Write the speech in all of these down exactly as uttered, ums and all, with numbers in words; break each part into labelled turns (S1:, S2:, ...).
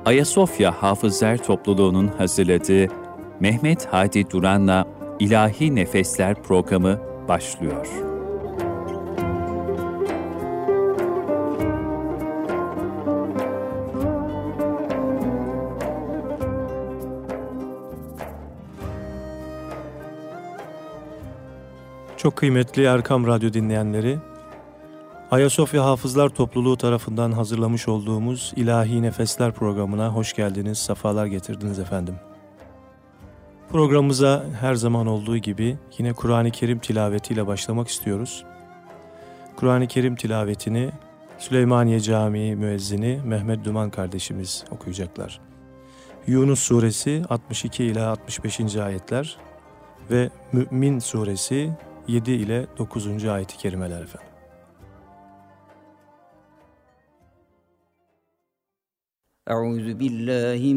S1: Ayasofya Hafızlar Topluluğu'nun hazırladığı Mehmet Hadi Duran'la İlahi Nefesler programı başlıyor.
S2: Çok kıymetli Erkam Radyo dinleyenleri, Ayasofya Hafızlar Topluluğu tarafından hazırlamış olduğumuz İlahi Nefesler programına hoş geldiniz, sefalar getirdiniz efendim. Programımıza her zaman olduğu gibi yine Kur'an-ı Kerim tilavetiyle başlamak istiyoruz. Kur'an-ı Kerim tilavetini Süleymaniye Camii müezzini Mehmet Duman kardeşimiz okuyacaklar. Yunus Suresi altmış iki ila altmış beşinci ayetler ve Mü'min Suresi yedi ile dokuzuncu ayet-i kerimeler efendim.
S3: Euzu billahi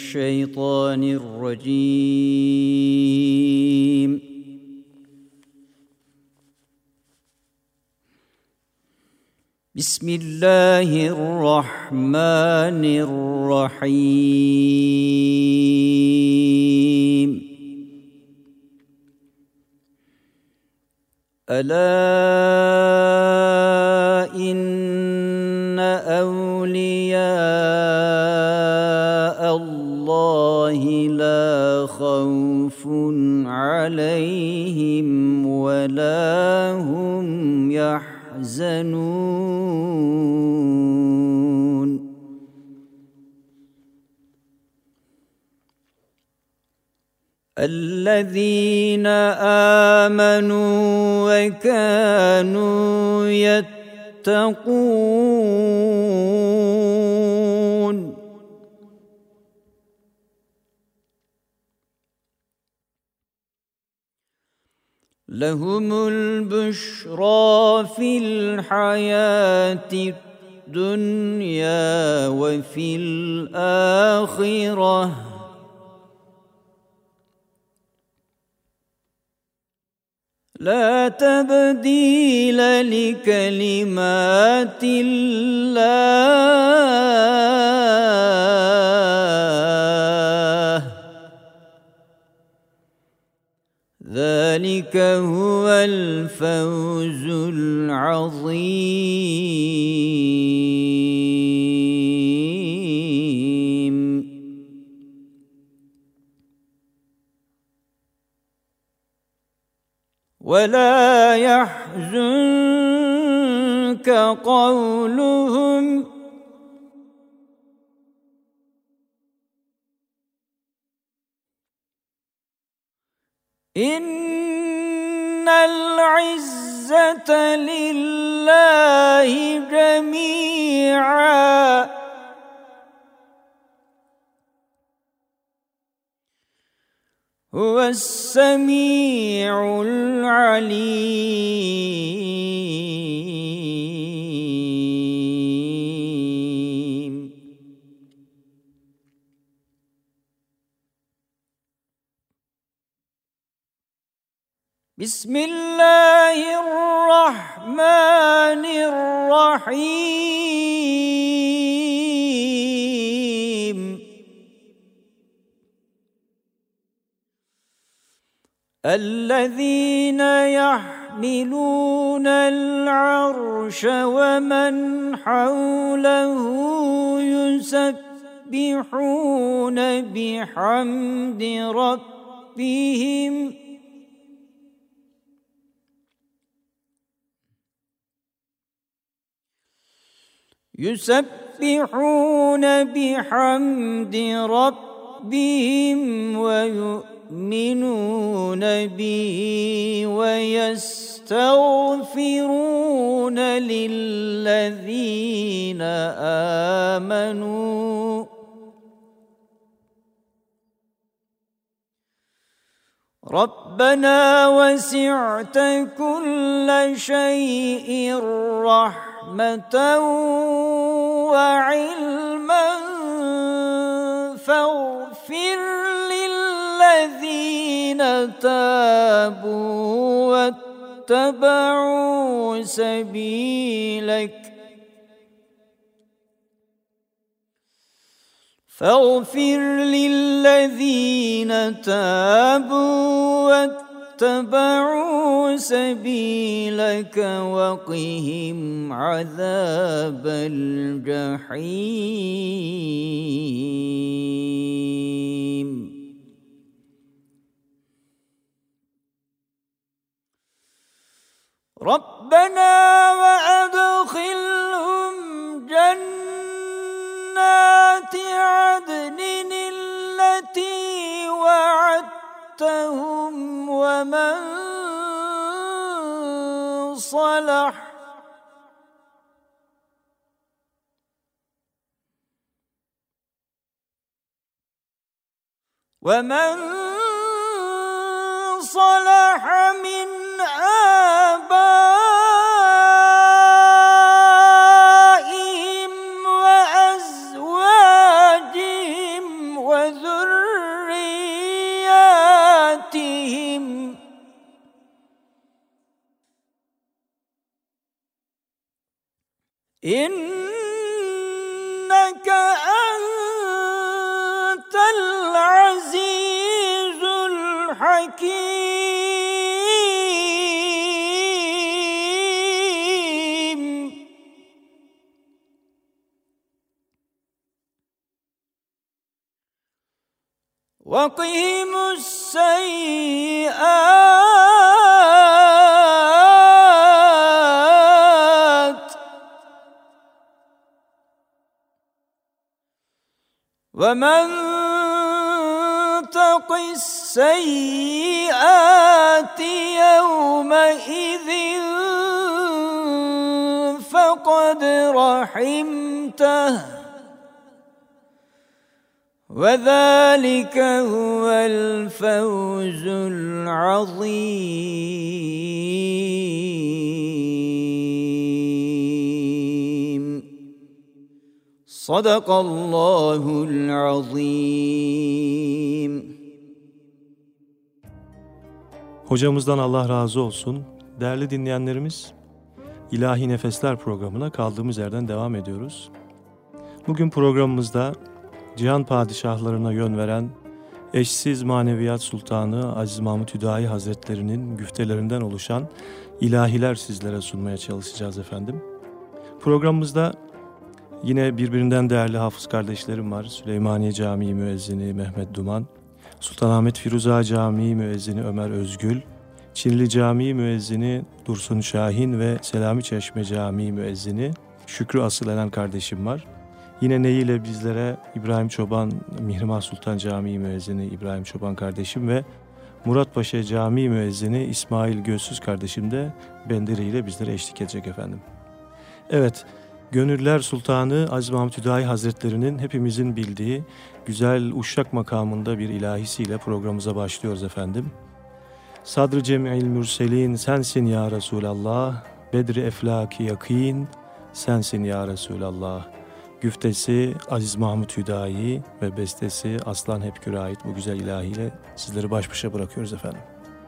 S3: mineşşeytanirracim. Bismillahirrahmanirrahim. Ela inne evliya Allahi la khawfun aleyhim ve la hum yahzanun. الذين آمنوا وكانوا يتقون لهم البشرى في الحياة الدنيا وفي الآخرة لا تبديل لكلمات الله ذلك هو الفوز العظيم. ولا يحزنك قولهم إن العزة لله جميعا هو السميع العليم. بسم الله الرحمن الرحيم. الذين يحملون العرش ومن حوله يسبحون بحمد ربهم يسبحون بحمد ربهم ويؤمنون به ويستغفرون للذين آمنوا ربنا وسعت كل شيء رحمة وعلما فاغفر للذين تابوا واتبعوا سبيلك فاغفر للذين تابوا واتبعوا سبيلك وقهم عذاب الجحيم ربنا وأدخلهم جنات عدن التي وعدتهم ومن صلح ومن صلح من آبائهم وأزواجهم وذرياتهم إنك أنت العزيز الحكيم وقهم السيئات ومن تق السيئات يومئذ فقد رحمته وذلك هو الفوز العظيم صدق الله العظيم.
S2: Hocamızdan Allah razı olsun. Değerli dinleyenlerimiz, İlahi Nefesler programına kaldığımız yerden devam ediyoruz. Bugün programımızda cihan padişahlarına yön veren eşsiz maneviyat sultanı Aziz Mahmud Hüdayi Hazretleri'nin güftelerinden oluşan ilahiler sizlere sunmaya çalışacağız efendim. Programımızda yine birbirinden değerli hafız kardeşlerim var. Süleymaniye Camii müezzini Mehmet Duman, Sultanahmet Firuza Camii müezzini Ömer Özgül, Çinli Camii müezzini Dursun Şahin ve Selami Çeşme Camii müezzini Şükrü Asılenen kardeşim var. Yine neyiyle bizlere İbrahim Çoban, Mihrimah Sultan Camii müezzini İbrahim Çoban kardeşim ve Muratpaşa Camii müezzini İsmail Gözsüz kardeşim de benderiyle bizlere eşlik edecek efendim. Evet, Gönüller Sultanı Aziz Mahmud Hüdayi Hazretleri'nin hepimizin bildiği güzel Uşşak makamında bir ilahisiyle programımıza başlıyoruz efendim. Sadr-ı Cem'il Mürselin sensin ya Resulallah, Bedri Eflaki Yakin sensin ya Resulallah. Güftesi Aziz Mahmud Hüdayi ve bestesi Aslan Hepkür'e ait bu güzel ilahiyle sizleri baş başa bırakıyoruz efendim.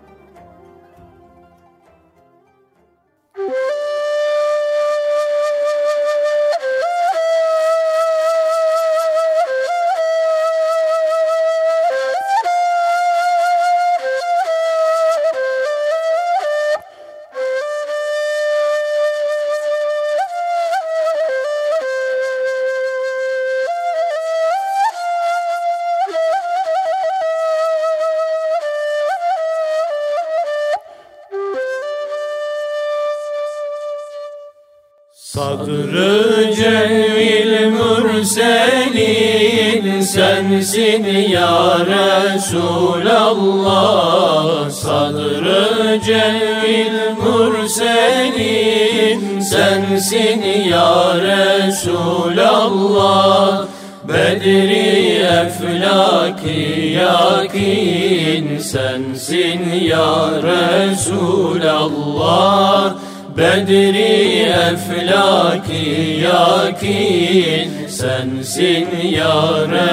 S4: Sadr-ı Cemil Mürselin sensin ya Resulallah. Sadr-ı Cemil Mürselin sensin ya Resulallah. Bedri Eflaki Yakin sensin ya Resulallah. Bedri Eflaki Yakin sensin ya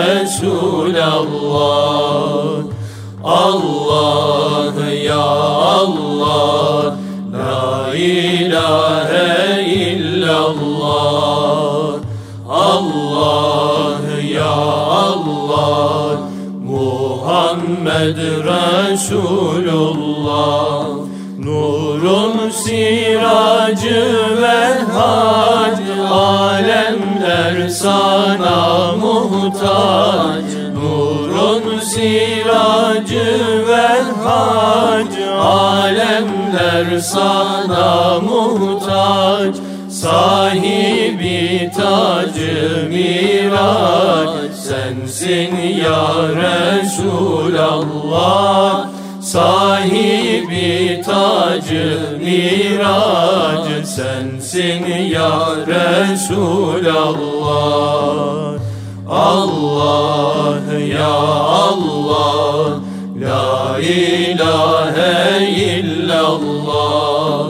S4: Resulallah. Allah ya Allah, la ilahe illallah. Allah ya Allah, Muhammed Resulullah. Nurun siracı ve hac, alemler sana muhtaç. Nurun siracı ve hac, alemler sana muhtaç. Sahibi tacı miraç, sensin ya Resulallah. Sahibi tacı miraç, sensin ya Resulallah. Allah ya Allah, la ilahe illallah.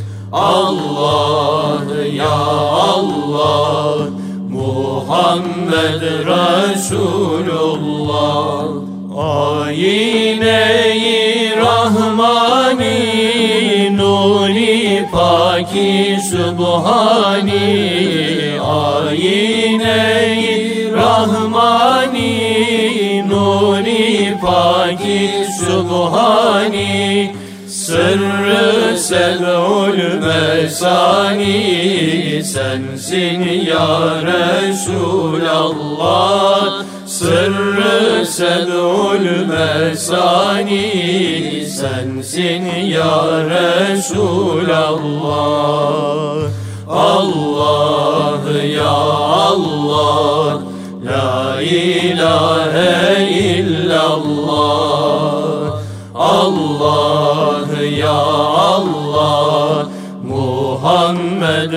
S4: Allah ya Allah, Muhammed Resulullah. Ayine-i Rahmani, Nuri Paki Sübhani. Ayine-i Rahmani, Nuri Paki Sübhani. Sırrı sed'ul mesani, sensin ya Resulallah. Sırrı sed'ul mesani, sensin ya Resulallah. Allah ya Allah, la ilahe illallah. Allah ya Allah, Muhammed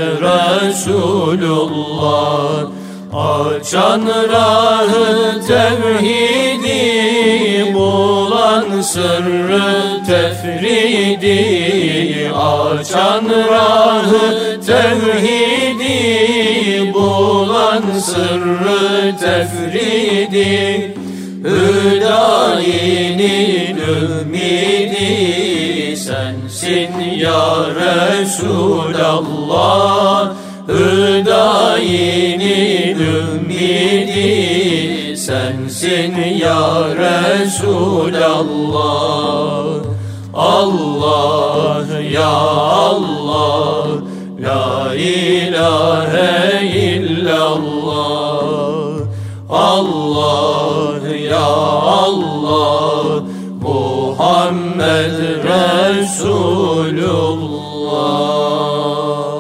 S4: Resulullah. Açan rahı tevhidi, bulan sırrı tefridi. Açan rahı tevhidi, bulan sırrı tefridi. Hüdayinin ümidi, sensin ya Resulallah. Hüdayinin ümidi, sensin ya Resulallah. Allah ya Allah, la ilahe illallah. Allah ya Allah, Muhammed Resulullah.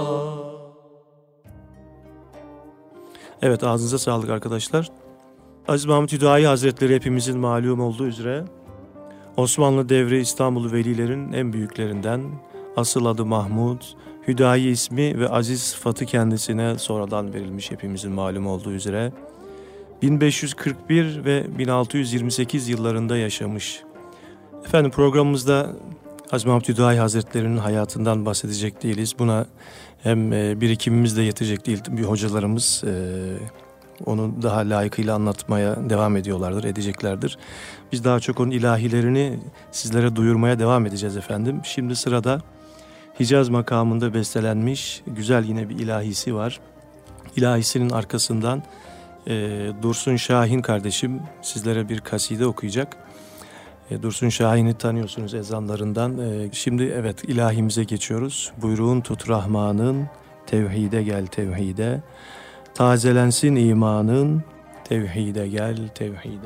S2: Evet, ağzınıza sağlık arkadaşlar. Aziz Mahmud Hüdayi Hazretleri hepimizin malum olduğu üzere Osmanlı devri İstanbul velilerin en büyüklerinden, asıl adı Mahmud, Hüdayi ismi ve aziz sıfatı kendisine sonradan verilmiş hepimizin malum olduğu üzere. bin beş yüz kırk bir ve bin altı yüz yirmi sekiz yıllarında yaşamış. Efendim, programımızda Aziz Mahmud Hüdayi Hazretleri'nin hayatından bahsedecek değiliz. Buna hem birikimimiz de yetecek değil. Bir hocalarımız onu daha layıkıyla anlatmaya devam ediyorlardır, edeceklerdir. Biz daha çok onun ilahilerini sizlere duyurmaya devam edeceğiz efendim. Şimdi sırada Hicaz makamında bestelenmiş güzel yine bir ilahisi var. İlahisinin arkasından e, Dursun Şahin kardeşim sizlere bir kaside okuyacak. E, Dursun Şahin'i tanıyorsunuz ezanlarından. E, şimdi evet ilahimize geçiyoruz. Buyruğun tut Rahman'ın, tevhide gel tevhide. Tazelensin imanın, tevhide gel tevhide.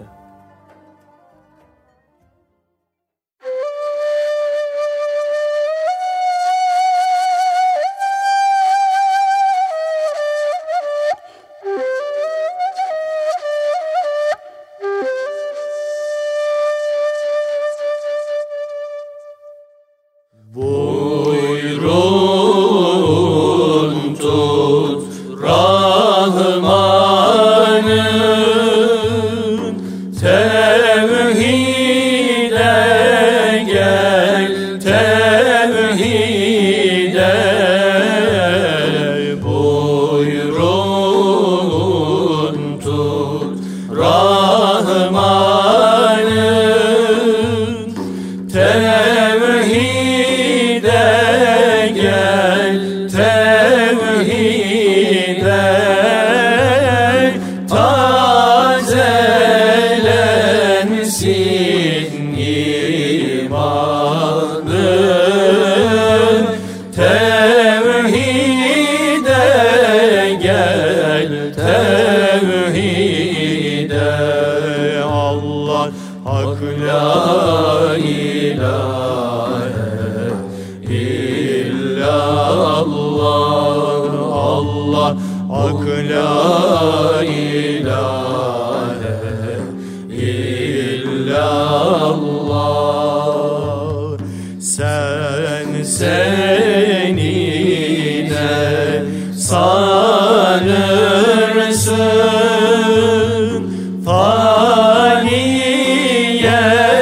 S4: Buyurun tut Rahman'ın, tevhide gel tevhide. Buyurun tut Rahman'ın, tevhide gel tevhide. Tazelensin Hak la ilahe illallah. Sen senine sanırsın, faniye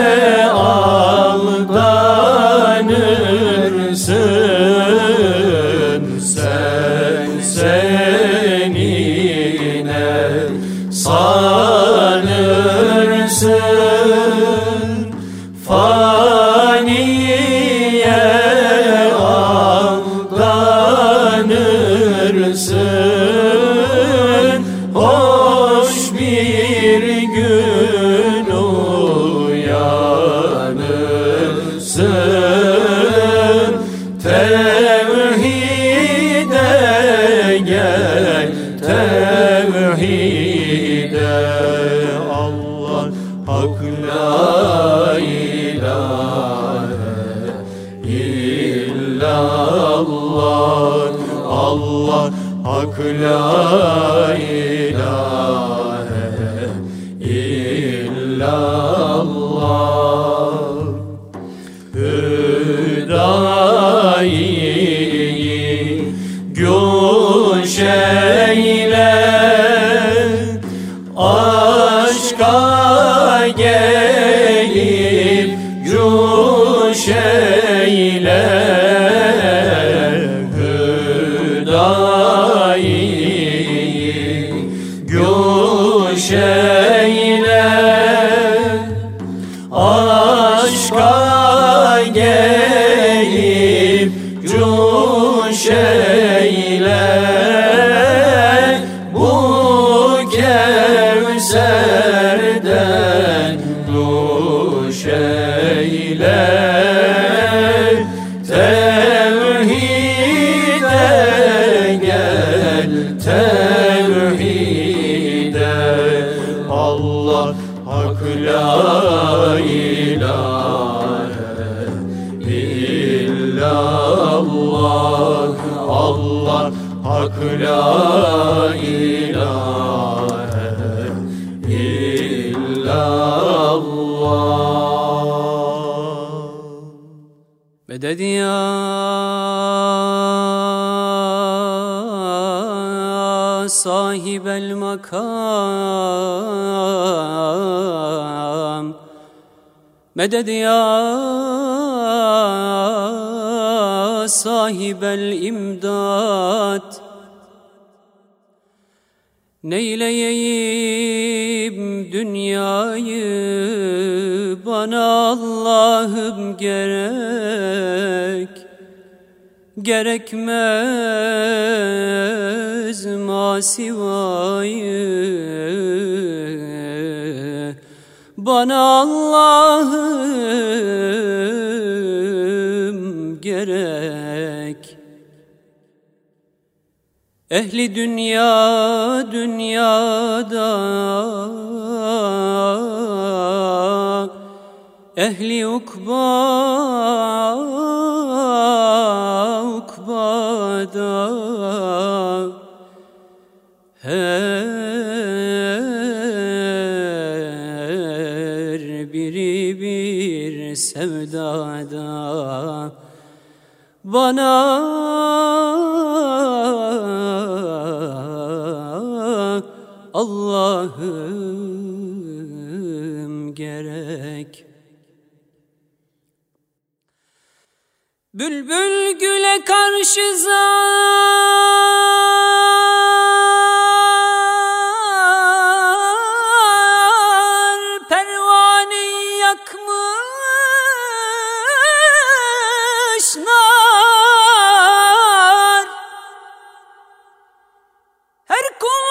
S4: aldanırsın. Sen senine sanırsın, faniye aldanırsın. Hoş bir gün uyanırsın, tevhide gel, tevhide. Allah hak la ilahe illallah. Allah hak la ilahe illallah. Hüdayi güş eyle, aşka gelip cuş eyle. Hüdayi güş eyle, aşka gelip cuş eyle. Bu Kevser'den nuş eyle, tevhide gel, tevhide. Allah hak la ilahe illallah. Allah hak la ilahe illallah.
S5: Meded ya sahibel makam, meded ya sahibel imdad. Neyleyeyim dünyayı bana Allah'ım gerek, gerekmez masivayı bana Allah'ım gerek. Ehli dünya dünyada, ehli ukba ukbada, her biri bir sevdada bana Allah'ım gerek. Bülbül güle karşı zar, pervaneyi yakmış nar. Her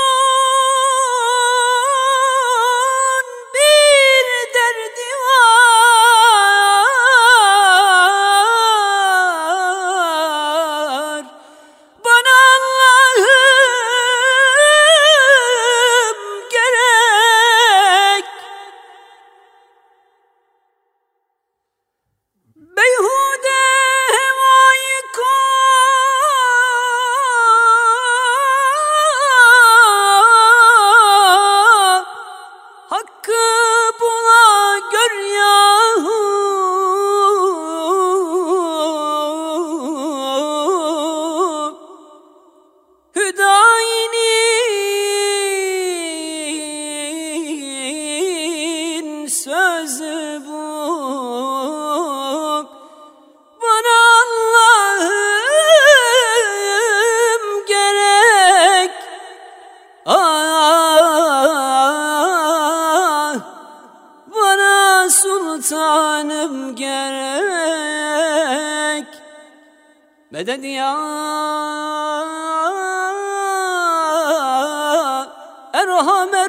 S5: kulun bir derdi var. Bana Allah'ım Meded ya Erhamer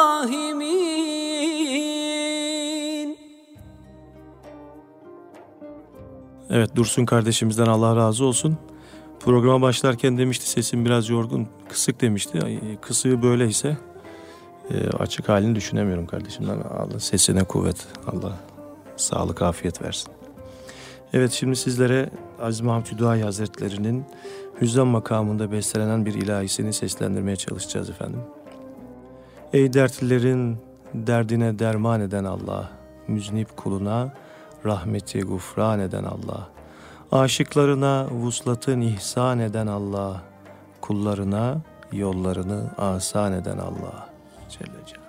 S5: Rahimin.
S2: Evet, Dursun kardeşimizden Allah razı olsun. Programa başlarken demişti sesim biraz yorgun, kısık demişti. Ay, kısığı böyleyse e, açık halini düşünemiyorum kardeşimden. Allah sesine kuvvet, Allah sağlık, afiyet versin. Evet, şimdi sizlere Aziz Mahmud Hüdayi Hazretleri'nin Hüzzam makamında bestelenen bir ilahisini seslendirmeye çalışacağız efendim. Ey dertlilerin derdine derman eden Allah, müznip kuluna rahmeti gufran eden Allah, aşıklarına vuslatın ihsan eden Allah, kullarına yollarını asan eden Allah Celle Celaluhu.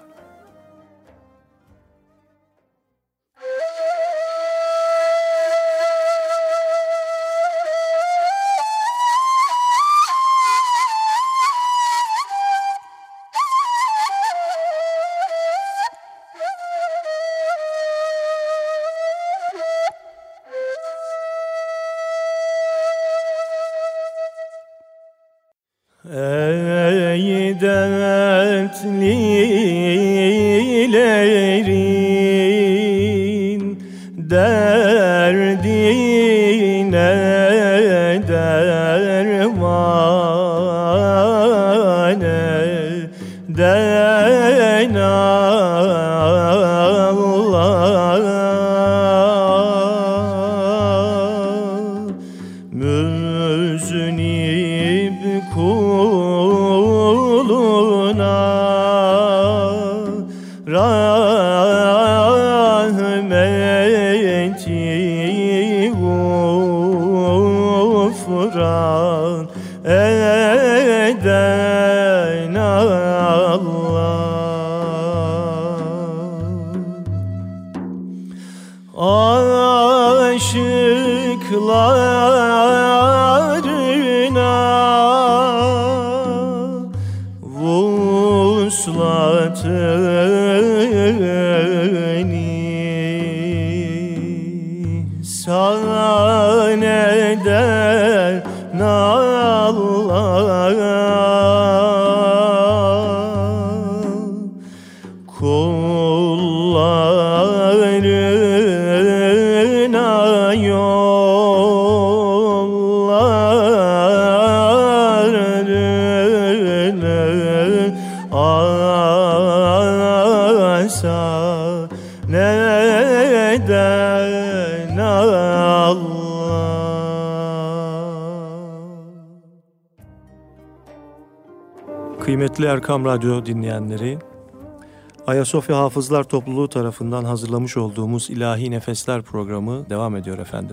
S2: Ey dertlilerin derdine derman eden Allah, müznib kuluna rahmeti gufran eden Allah, aşıklarına vuslatın ihsan eden Allah, kullarına yollarını asan eden Allah. Kıymetli Erkam Radyo dinleyenleri, Ayasofya Hafızlar Topluluğu tarafından hazırlamış olduğumuz İlahi Nefesler programı devam ediyor efendim.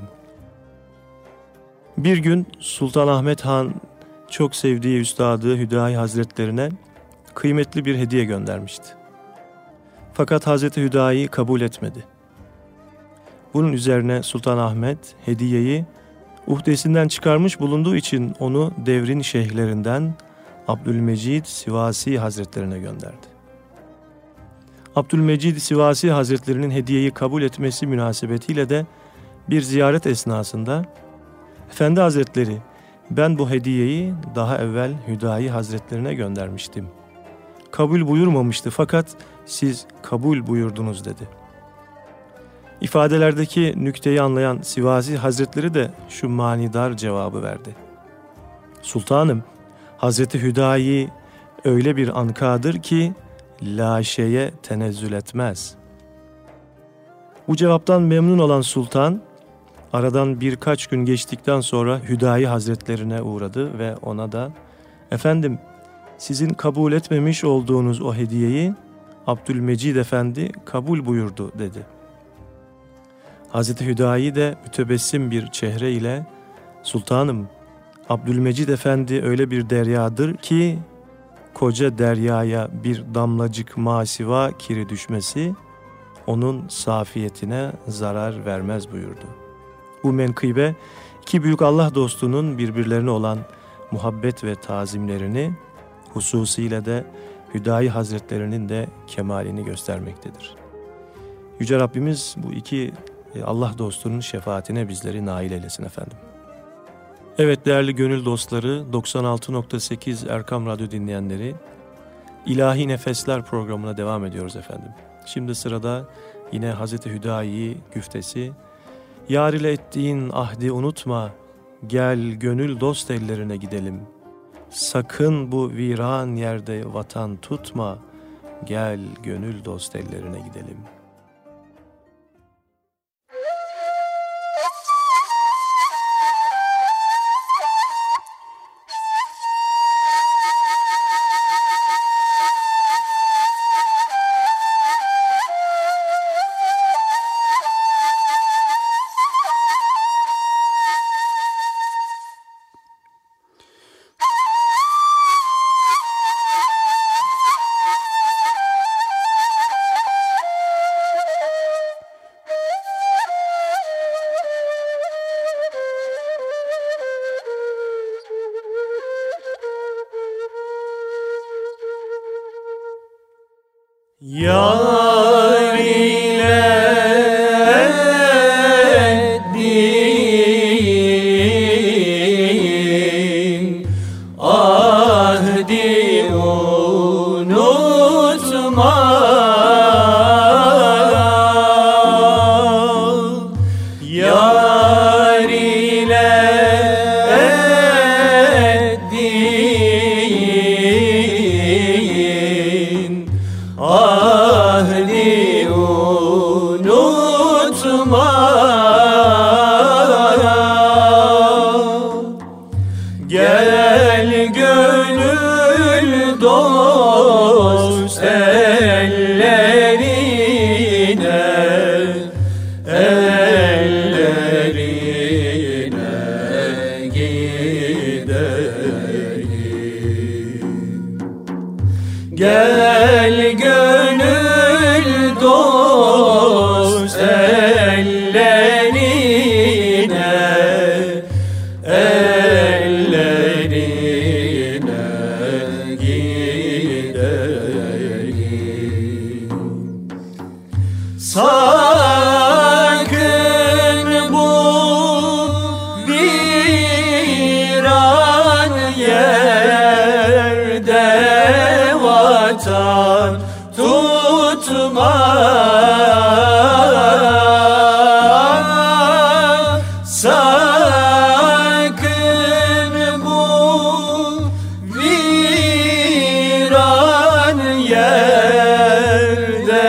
S2: Bir gün Sultanahmet Han çok sevdiği üstadı Hüdayi Hazretlerine kıymetli bir hediye göndermişti. Fakat Hazreti Hüdayi kabul etmedi. Bunun üzerine Sultanahmet hediyeyi uhdesinden çıkarmış bulunduğu için onu devrin şeyhlerinden Abdülmecid Sivasi Hazretlerine gönderdi. Abdülmecid Sivasi Hazretlerinin hediyeyi kabul etmesi münasebetiyle de bir ziyaret esnasında Efendi Hazretleri, ben bu hediyeyi daha evvel Hüdayi Hazretlerine göndermiştim. Kabul buyurmamıştı fakat siz kabul buyurdunuz dedi. İfadelerdeki nükteyi anlayan Sivasi Hazretleri de şu manidar cevabı verdi. Sultanım, Hazreti Hüdayi öyle bir ankadır ki laşeye tenezzül etmez. Bu cevaptan memnun olan sultan, aradan birkaç gün geçtikten sonra Hüdayi Hazretlerine uğradı ve ona da efendim sizin kabul etmemiş olduğunuz o hediyeyi Abdülmecid Efendi kabul buyurdu dedi. Hazreti Hüdayi de mütebessim bir çehre ile sultanım Abdülmecid Efendi öyle bir deryadır ki koca deryaya bir damlacık masiva kiri düşmesi onun safiyetine zarar vermez buyurdu. Bu menkıbe iki büyük Allah dostunun birbirlerine olan muhabbet ve tazimlerini, hususiyle de Hüdayi Hazretlerinin de kemalini göstermektedir. Yüce Rabbimiz bu iki Allah dostunun şefaatine bizleri nail eylesin efendim. Evet değerli gönül dostları, doksan altı nokta sekiz Erkam Radyo dinleyenleri, İlahi Nefesler programına devam ediyoruz efendim. Şimdi sırada yine Hazreti Hüdayi güftesi. Yar ile ettiğin ahdi unutma, gel gönül dost ellerine gidelim. Sakın bu viran yerde vatan tutma, gel gönül dost ellerine gidelim.
S4: Yar ile ettiğin ahdi unutma, yar ile ettiğin ahdi unutma, gel gönül dost ellerine, ellerine gidelim. Gel gönül dost ellerine, ellerine gidelim. Sakın bu viran yerde vatan tutma, sakın bu viran yerde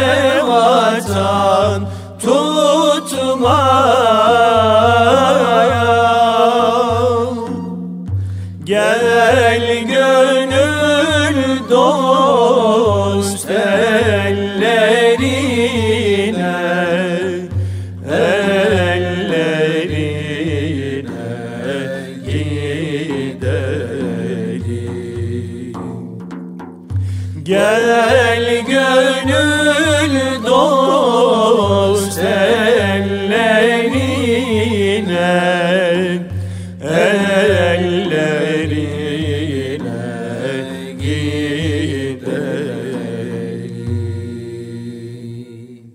S4: vatan tutma, gel gönül dost ellerine, ellerine gidelim. Gel gönül dost ellerine, ellerine gidelim.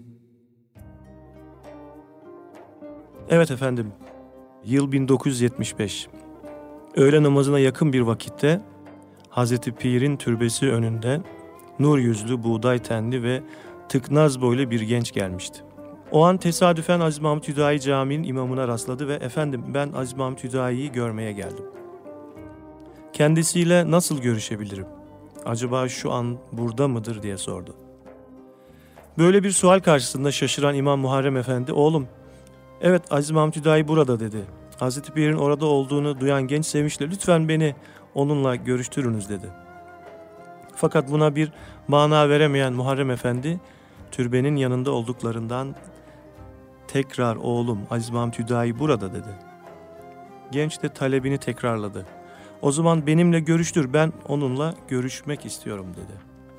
S2: Evet efendim, yıl bin dokuz yüz yetmiş beş. Öğle namazına yakın bir vakitte Hazreti Pir'in türbesi önünde nur yüzlü, buğday tenli ve tıknaz boylu bir genç gelmişti. O an tesadüfen Aziz Mahmud Hüdayi Camii'nin imamına rastladı ve efendim ben Aziz Mahmud Hüdayi'yi görmeye geldim. Kendisiyle nasıl görüşebilirim? Acaba şu an burada mıdır diye sordu. Böyle bir sual karşısında şaşıran İmam Muharrem Efendi, oğlum, evet Aziz Mahmud Hüdayi burada dedi. Hazreti Pir'in orada olduğunu duyan genç sevinçle lütfen beni onunla görüştürünüz dedi. Fakat buna bir mana veremeyen Muharrem Efendi türbenin yanında olduklarından tekrar oğlum Aziz Mahmud Hüdayi burada dedi. Genç de talebini tekrarladı. O zaman benimle görüştür, ben onunla görüşmek istiyorum dedi.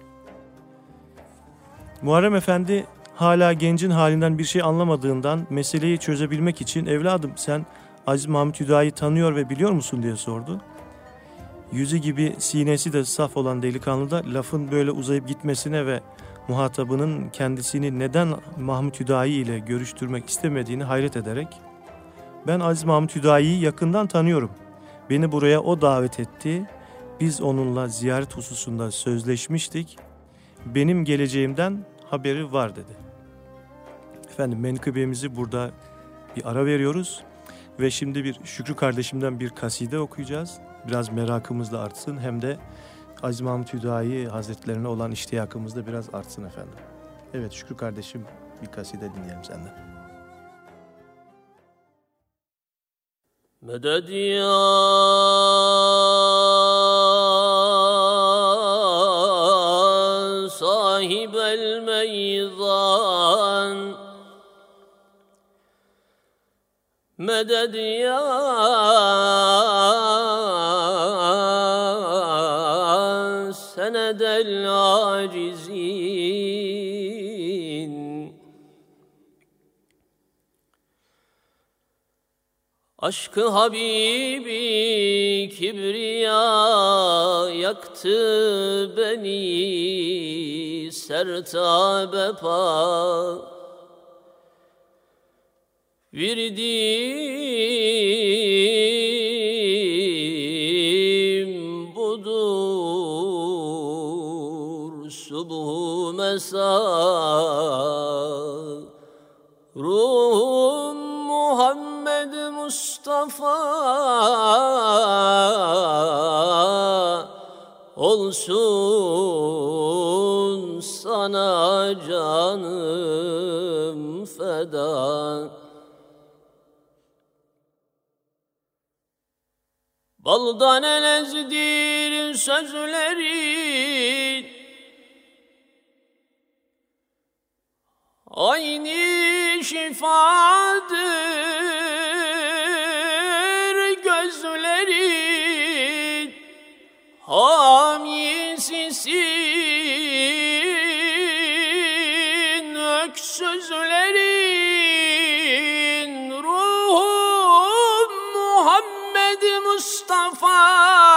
S2: Muharrem Efendi hala gencin halinden bir şey anlamadığından meseleyi çözebilmek için evladım sen Aziz Mahmud Hüdayi tanıyor ve biliyor musun diye sordu. Yüzü gibi sinesi de saf olan delikanlı da lafın böyle uzayıp gitmesine ve muhatabının kendisini neden Mahmud Hüdayi ile görüştürmek istemediğini hayret ederek Ben Aziz Mahmut Hüdayi'yi yakından tanıyorum. Beni buraya o davet etti. Biz onunla ziyaret hususunda sözleşmiştik. Benim geleceğimden haberi var dedi. Efendim menkıbemizi burada bir ara veriyoruz. Ve şimdi bir Şükrü kardeşimden bir kaside okuyacağız. Biraz merakımız da artsın, hem de Aziz Mahmut Hüdayi Hazretlerine olan iştiyakımız da biraz artsın efendim. Evet Şükrü kardeşim, bir kaside dinleyelim senden.
S5: Meded ya sahibel meydan, meded ya senedel acizin. Aşkı Habibi kibriya yaktı beni sertabe pa. Virdim budur subhu mesa. Ruhum Muhammed Mustafa olsun sana canım feda. Baldan elezdir sözlerin, aynı şifadır gözlerin, hamisisin öksüzlerin. Ruhum Muhammed Mustafa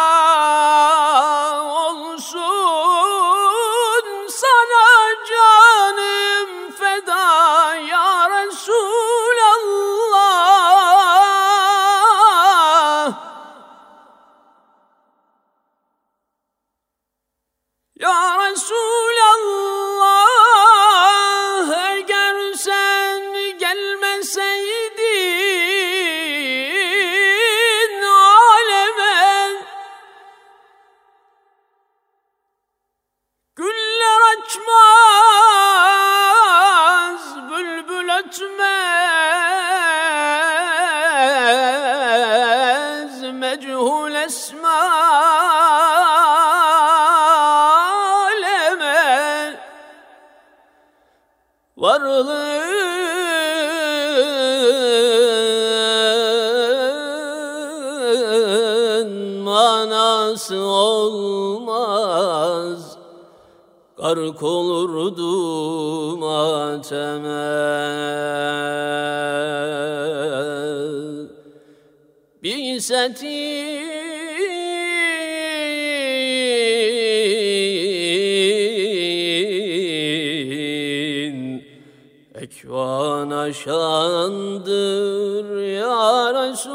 S5: olsun sana canım feda ya Resulallah. Ya Resulallah, eğer sen gelmeseydin aleme, güller açmaz, bülbül ötmez, mechul esma aleme. Varlığın manası olmaz, gark olurdu mateme. Bi'setin ekvana şandır ya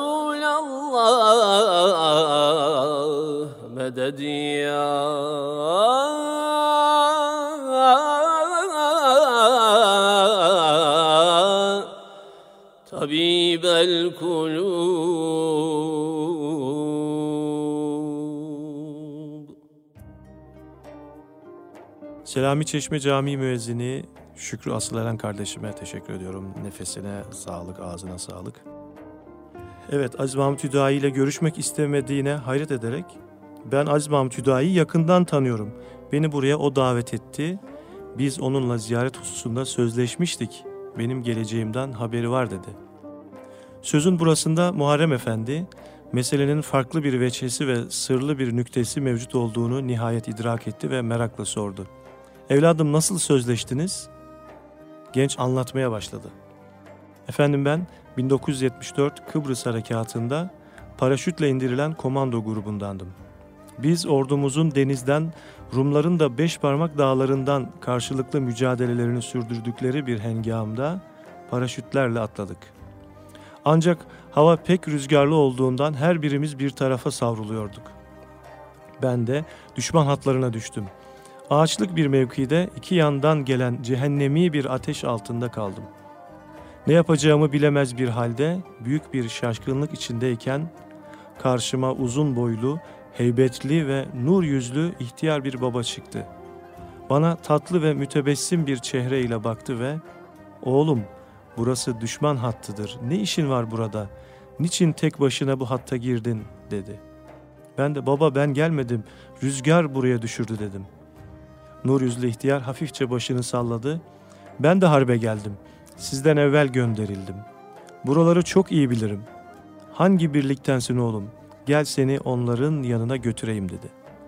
S5: Resulallah. Meded ya tabibel kulub.
S2: Selami Çeşme Camii müezzini Şükrü Asıleren kardeşime teşekkür ediyorum. Nefesine sağlık, ağzına sağlık. Evet, Aziz Mahmut Hüdayi ile görüşmek istemediğine hayret ederek, ben Aziz Mahmut Hüdayi'yi yakından tanıyorum. Beni buraya o davet etti. Biz onunla ziyaret hususunda sözleşmiştik. Benim geleceğimden haberi var dedi. Sözün burasında Muharrem Efendi, meselenin farklı bir veçhesi ve sırlı bir nüktesi mevcut olduğunu nihayet idrak etti ve merakla sordu. Evladım, nasıl sözleştiniz? Genç anlatmaya başladı. Efendim, ben bin dokuz yüz yetmiş dört Kıbrıs Harekatı'nda paraşütle indirilen komando grubundandım. Biz ordumuzun denizden, Rumların da Beşparmak dağlarından karşılıklı mücadelelerini sürdürdükleri bir hengamda paraşütlerle atladık. Ancak hava pek rüzgarlı olduğundan her birimiz bir tarafa savruluyorduk. Ben de düşman hatlarına düştüm. Ağaçlık bir mevkide iki yandan gelen cehennemi bir ateş altında kaldım. Ne yapacağımı bilemez bir halde büyük bir şaşkınlık içindeyken karşıma uzun boylu, heybetli ve nur yüzlü ihtiyar bir baba çıktı. Bana tatlı ve mütebessim bir çehreyle baktı ve "Oğlum, burası düşman hattıdır. Ne işin var burada? Niçin tek başına bu hatta girdin?" dedi. Ben de "Baba, ben gelmedim. Rüzgar buraya düşürdü" dedim. Nur yüzlü ihtiyar hafifçe başını salladı. "Ben de harbe geldim. Sizden evvel gönderildim. Buraları çok iyi bilirim. Hangi birliktensin oğlum? Gel seni onların yanına götüreyim" dedi.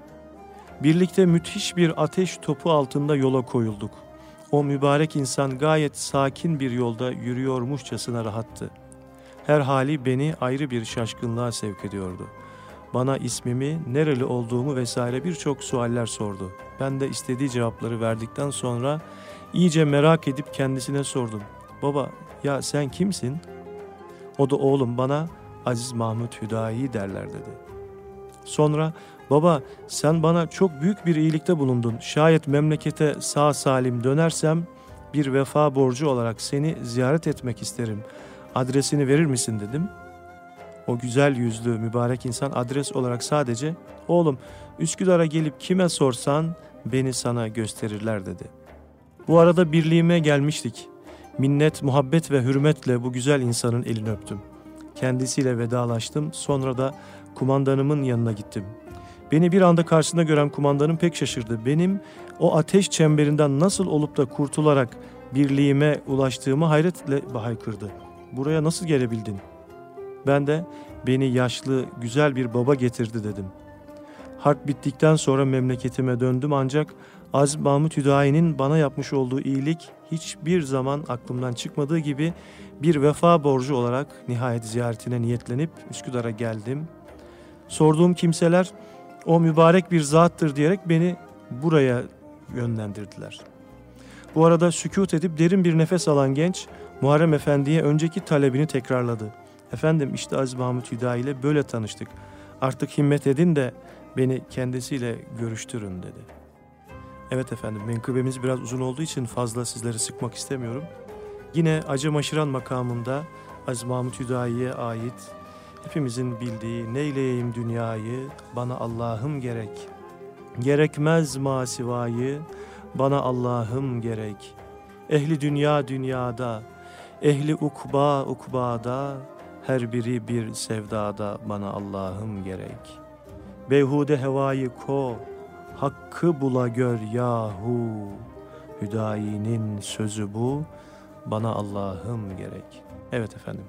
S2: Birlikte müthiş bir ateş topu altında yola koyulduk. O mübarek insan gayet sakin bir yolda yürüyormuşçasına rahattı. Her hali beni ayrı bir şaşkınlığa sevk ediyordu. Bana ismimi, nereli olduğumu vesaire birçok sualler sordu. Ben de istediği cevapları verdikten sonra iyice merak edip kendisine sordum. "Baba, ya sen kimsin?" O da "Oğlum, bana Aziz Mahmud Hüdayi derler" dedi. Sonra "Baba, sen bana çok büyük bir iyilikte bulundun. Şayet memlekete sağ salim dönersem bir vefa borcu olarak seni ziyaret etmek isterim. Adresini verir misin?" dedim. O güzel yüzlü mübarek insan adres olarak sadece "Oğlum, Üsküdar'a gelip kime sorsan beni sana gösterirler" dedi. Bu arada birliğime gelmiştik. Minnet, muhabbet ve hürmetle bu güzel insanın elini öptüm. Kendisiyle vedalaştım. Sonra da kumandanımın yanına gittim. Beni bir anda karşısında gören kumandanım pek şaşırdı. Benim o ateş çemberinden nasıl olup da kurtularak birliğime ulaştığımı hayretle haykırdı. "Buraya nasıl gelebildin?" Ben de "Beni yaşlı, güzel bir baba getirdi" dedim. Harp bittikten sonra memleketime döndüm ancak Aziz Mahmud Hüdayi'nin bana yapmış olduğu iyilik hiçbir zaman aklımdan çıkmadığı gibi bir vefa borcu olarak nihayet ziyaretine niyetlenip Üsküdar'a geldim. Sorduğum kimseler o mübarek bir zattır diyerek beni buraya yönlendirdiler. Bu arada sükût edip derin bir nefes alan genç Muharrem Efendi'ye önceki talebini tekrarladı. "Efendim, işte Aziz Mahmud Hüdayi ile böyle tanıştık. Artık himmet edin de beni kendisiyle görüştürün" dedi. Evet efendim, menkıbemiz biraz uzun olduğu için fazla sizleri sıkmak istemiyorum. Yine Acemaşıran makamında Aziz Mahmud Hüdayi'ye ait hepimizin bildiği "Neyleyeyim dünyayı, bana Allah'ım gerek. Gerekmez masivayı, bana Allah'ım gerek. Ehli dünya dünyada, ehli ukba ukbada, her biri bir sevdada, bana Allah'ım gerek. Beyhude hevayı ko, hakkı bula gör yahu. Hüdayi'nin sözü bu, bana Allah'ım gerek." Evet efendim.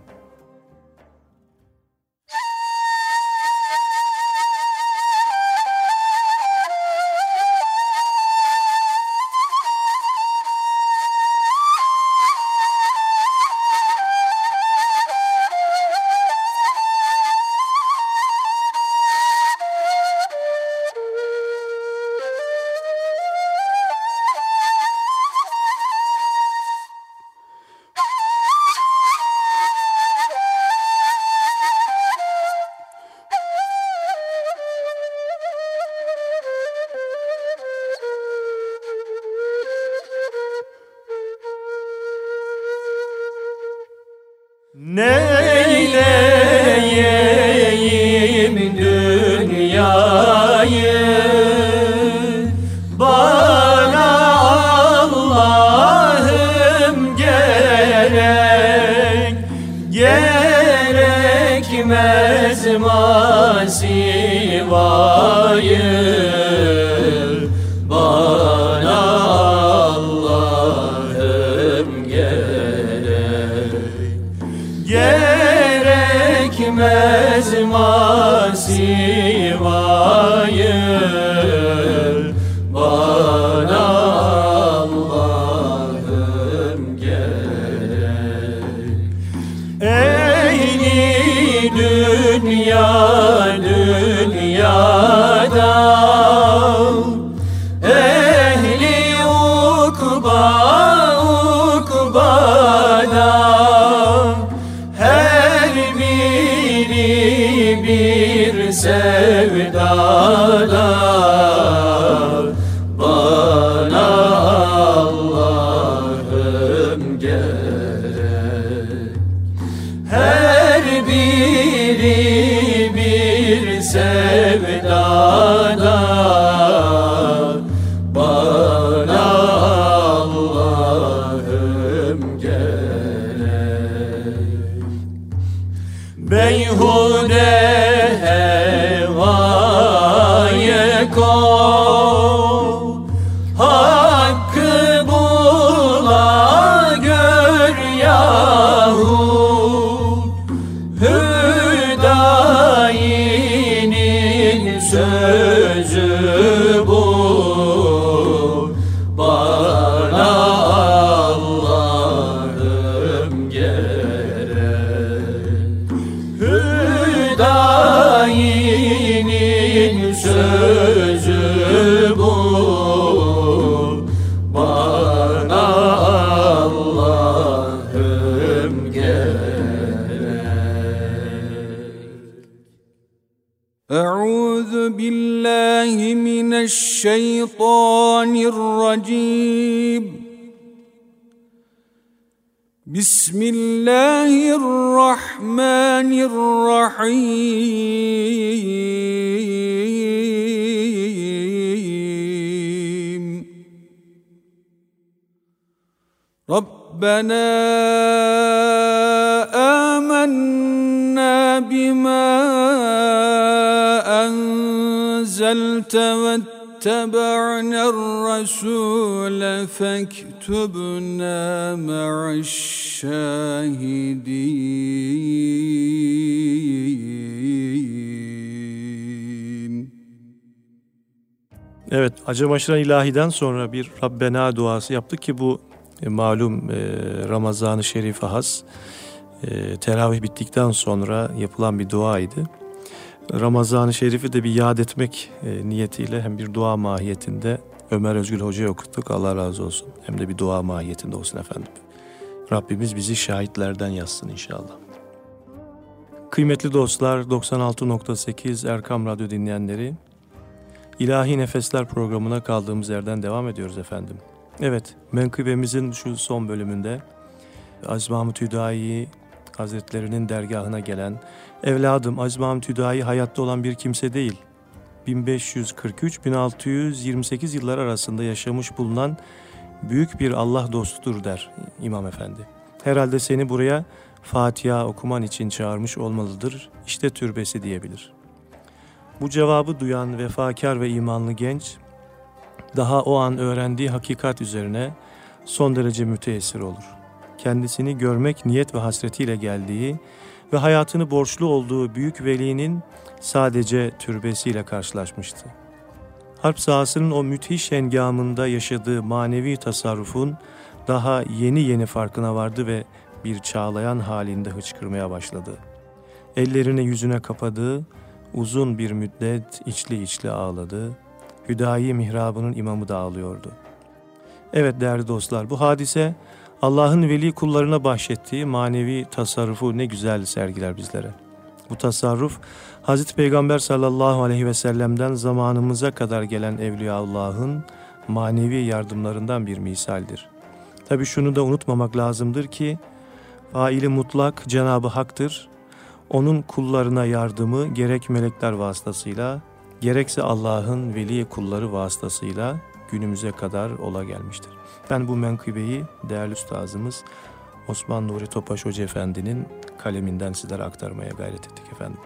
S4: Neyleyeyim dünyayı, bana Allah'ım gerek. Gerekmez masivayı, bana Allah'ım gerek. Gerekmez masivayı, bana Allah'ım gerek. Ehli dünya dünyada, ehli ukba ukbada, her biri bir sevdada bana Allah'ım gerek. Her biri bir sevdada bana Allah'ım gerek. Beyhude hevaya kov, hakkı bula gör yahut. Hüdayinin sözü bu, bana Allah'ım gerek. Hüdayinin sözü bu, bana Allah'ım gerek.
S3: Euzu billahi mineşşeytanirracim. Bismillahirrahmanirrahim. Rabbena amennâ bimâ enzelte vettebe'nel rasûle fektubnâ ma'aş-şâhidîn.
S2: Evet, Acem Aşıran İlahi'den sonra bir Rabbena duası yaptık ki bu e, malum e, Ramazan-ı Şerif'e has e, teravih bittikten sonra yapılan bir duaydı. Ramazan-ı Şerif'i de bir yad etmek e, niyetiyle hem bir dua mahiyetinde Ömer Özgül Hoca'ya okuttuk. Allah razı olsun. Hem de bir dua mahiyetinde olsun efendim. Rabbimiz bizi şahitlerden yazsın inşallah. Kıymetli dostlar, doksan altı nokta sekiz Erkam Radyo dinleyenleri, İlahi Nefesler programına kaldığımız yerden devam ediyoruz efendim. Evet, menkıbemizin şu son bölümünde Aziz Mahmud Hüdayi Hazretlerinin dergahına gelen, evladım Aziz Mahmud Hüdayi hayatta olan bir kimse değil, bin beş yüz kırk üç bin altı yüz yirmi sekiz yıllar arasında yaşamış bulunan büyük bir Allah dostudur der İmam Efendi. Herhalde seni buraya Fatiha okuman için çağırmış olmalıdır, İşte türbesi diyebilir. Bu cevabı duyan vefakar ve imanlı genç, daha o an öğrendiği hakikat üzerine son derece müteessir olur. Kendisini görmek niyet ve hasretiyle geldiği ve hayatını borçlu olduğu büyük velinin sadece türbesiyle karşılaşmıştı. Harp sahasının o müthiş hengamında yaşadığı manevi tasarrufun daha yeni yeni farkına vardı ve bir çağlayan halinde hıçkırmaya başladı. Ellerini yüzüne kapadı, uzun bir müddet içli içli ağladı. Hüdayi mihrabının imamı da ağlıyordu. Evet değerli dostlar, bu hadise Allah'ın veli kullarına bahşettiği manevi tasarrufu ne güzel sergiler bizlere. Bu tasarruf Hazreti Peygamber sallallahu aleyhi ve sellem'den zamanımıza kadar gelen Evliyaullah'ın manevi yardımlarından bir misaldir. Tabii şunu da unutmamak lazımdır ki faili mutlak Cenab-ı Hak'tır. Onun kullarına yardımı gerek melekler vasıtasıyla gerekse Allah'ın veli kulları vasıtasıyla günümüze kadar ola gelmiştir. Ben bu menkıbeyi değerli üstazımız Osman Nuri Topaş Hoca Efendi'nin kaleminden sizlere aktarmaya gayret ettik efendim.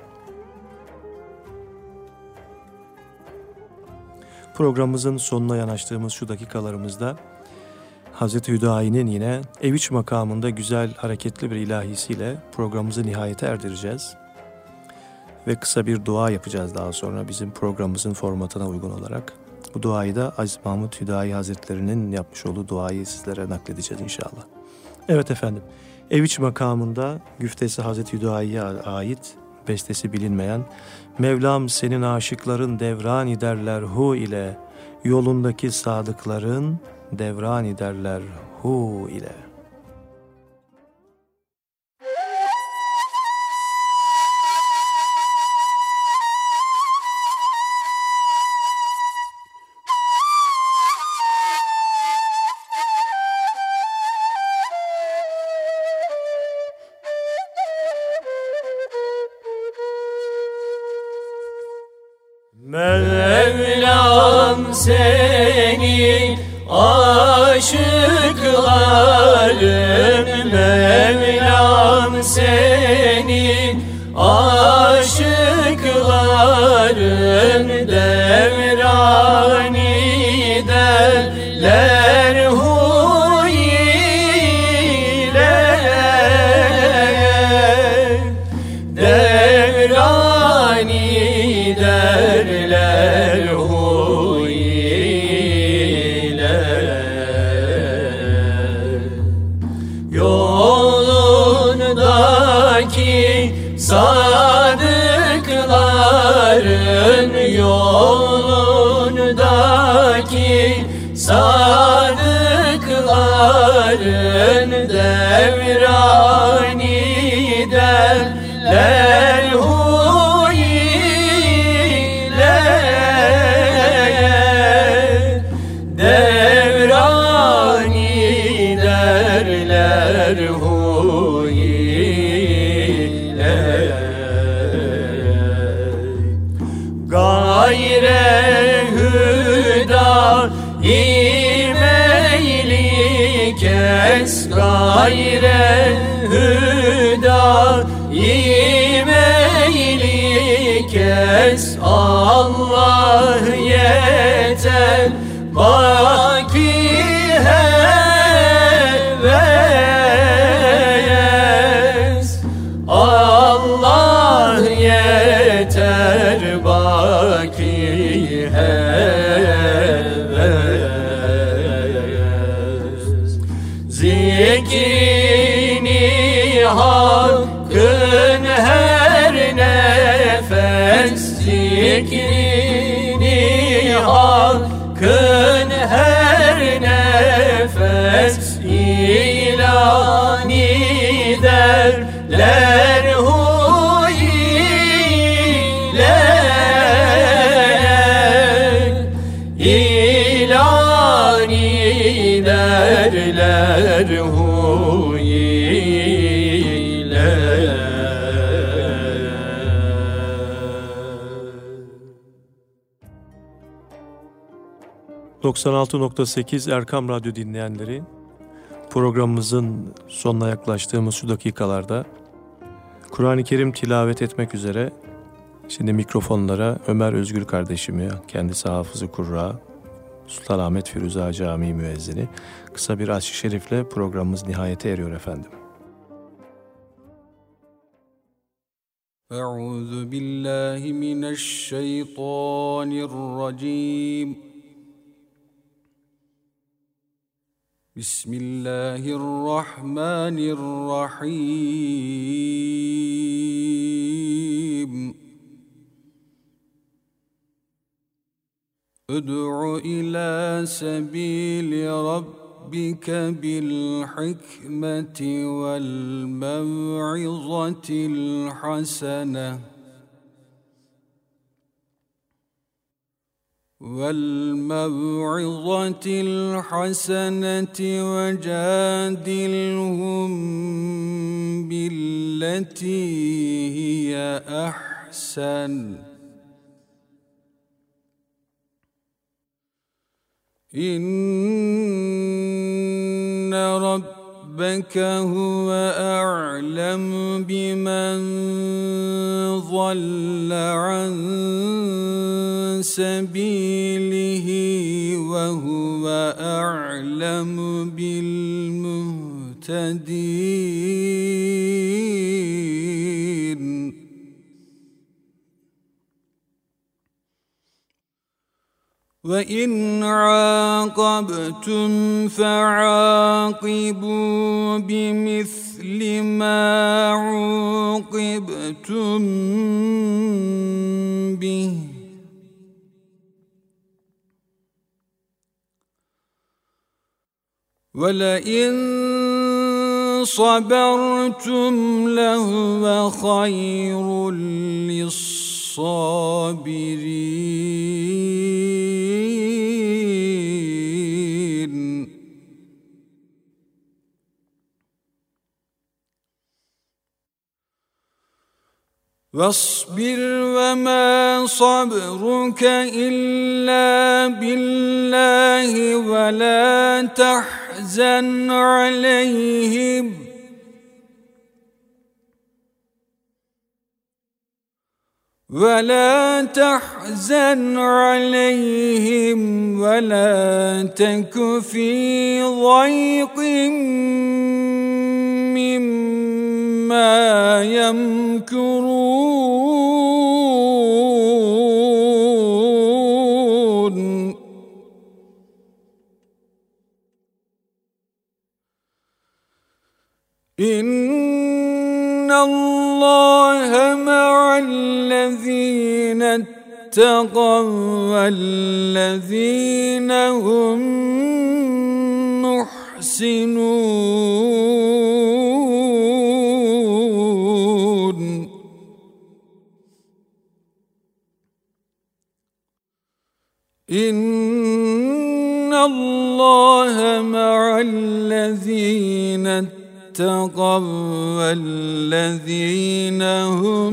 S2: Programımızın sonuna yanaştığımız şu dakikalarımızda Hazreti Hüdayi'nin yine Eviç makamında güzel hareketli bir ilahisiyle programımızı nihayete erdireceğiz. Ve kısa bir dua yapacağız daha sonra bizim programımızın formatına uygun olarak. Bu duayı da Aziz Mahmud Hüdayi Hazretleri'nin yapmış olduğu duayı sizlere nakledeceğiz inşallah. Evet efendim, Eviç makamında güftesi Hazreti Hüdayi'ye ait, bestesi bilinmeyen Mevlam senin aşıkların devran ederler hu ile, yolundaki sadıkların devran ederler hu ile.
S4: Mevlam senin aşıkların, Mevlam senin aşıkların devrani derler huy ile, devrani derler huy ile. Yolundaki sadıkların, yolundaki sadıkların devrani derler huy ile, devrani derler huy ile. Gayre hüda imeyli kes, gayre hüda imeyli kes, Allah yeter baki heves, Allah yeter baki heves. Zikrini hakkın her nefes, zikrini hakkın her nefes, ilani derler huy ile, ilani derler huy ile.
S2: doksan altı nokta sekiz Erkam Radyo dinleyenleri, programımızın sonuna yaklaştığımız şu dakikalarda Kur'an-ı Kerim tilavet etmek üzere şimdi mikrofonlara Ömer Özgür kardeşimi, kendisi Hafız-ı Kurra, Sultanahmet Firuza Camii müezzini, kısa bir aşk-ı şerifle programımız nihayete eriyor efendim.
S3: Euzu billahi mineşşeytanirracim. Bismillahirrahmanirrahim. Ud'u ila sebili rabbike bil hikmeti vel mev'izatil hasene وَالْمَوْعِظَةِ الْحَسَنَةِ وَجَادِلْهُمْ بِالَّتِي هِيَ أَحْسَنُ إِنَّ رَبَّكَ هُوَ أَعْلَمُ بِمَنْ ضَلَّ عَنْ سبيله وهو أعلم بالمهتدين وإن عاقبتم فعاقبوا بمثل ما عوقبتم به وَلَئِنْ صَبَرْتُمْ لَهُوَ خَيْرٌ لِلصَّابِرِينَ. واصبر وما صبرك إلا بالله ولا تحزن عليهم ولا تحزن عليهم ولا تك في ضيق مما يمكرون إن الله مع الذين اتقوا والذين هم محسنون إن الله مع الذين اتقوا والذين هم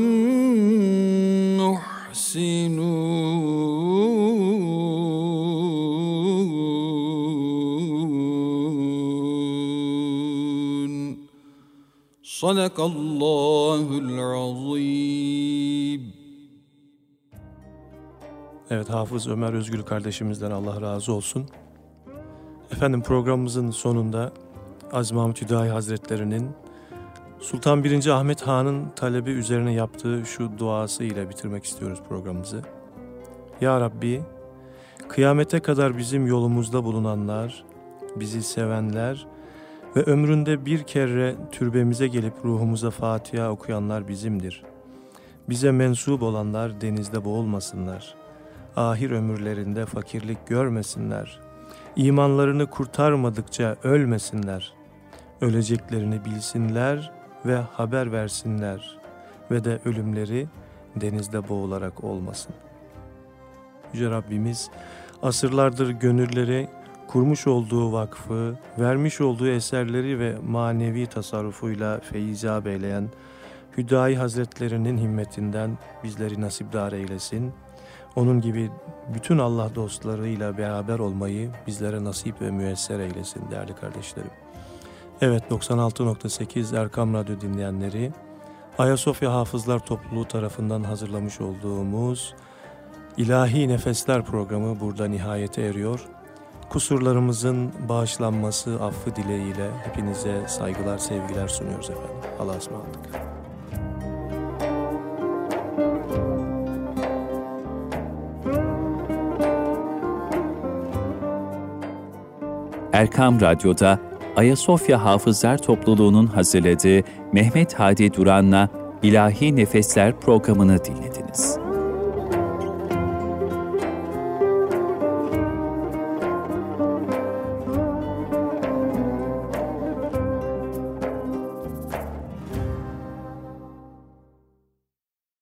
S3: محسنون صدق الله العظيم.
S2: Evet, Hafız Ömer Özgül kardeşimizden Allah razı olsun. Efendim, programımızın sonunda Aziz Mahmud Hüdayi Hazretleri'nin Sultan birinci. Ahmet Han'ın talebi üzerine yaptığı şu duası ile bitirmek istiyoruz programımızı. Ya Rabbi, kıyamete kadar bizim yolumuzda bulunanlar, bizi sevenler ve ömründe bir kere türbemize gelip ruhumuza Fatiha okuyanlar bizimdir. Bize mensup olanlar denizde boğulmasınlar. Ahir ömürlerinde fakirlik görmesinler. İmanlarını kurtarmadıkça ölmesinler. Öleceklerini bilsinler ve haber versinler ve de ölümleri denizde boğularak olmasın. Yüce Rabbimiz asırlardır gönülleri kurmuş olduğu vakfı, vermiş olduğu eserleri ve manevi tasarrufuyla feyizab eyleyen Hüdayi Hazretlerinin himmetinden bizleri nasipdar eylesin. Onun gibi bütün Allah dostlarıyla beraber olmayı bizlere nasip ve müyesser eylesin değerli kardeşlerim. Evet, doksan altı nokta sekiz Erkam Radyo dinleyenleri, Ayasofya Hafızlar Topluluğu tarafından hazırlamış olduğumuz İlahi Nefesler programı burada nihayete eriyor. Kusurlarımızın bağışlanması, affı dileğiyle hepinize saygılar, sevgiler sunuyoruz efendim. Allah'a ısmarladık.
S1: Erkam Radyo'da Ayasofya Hafızlar Topluluğu'nun hazırladığı Mehmet Hadi Duran'la İlahi Nefesler programını dinlediniz.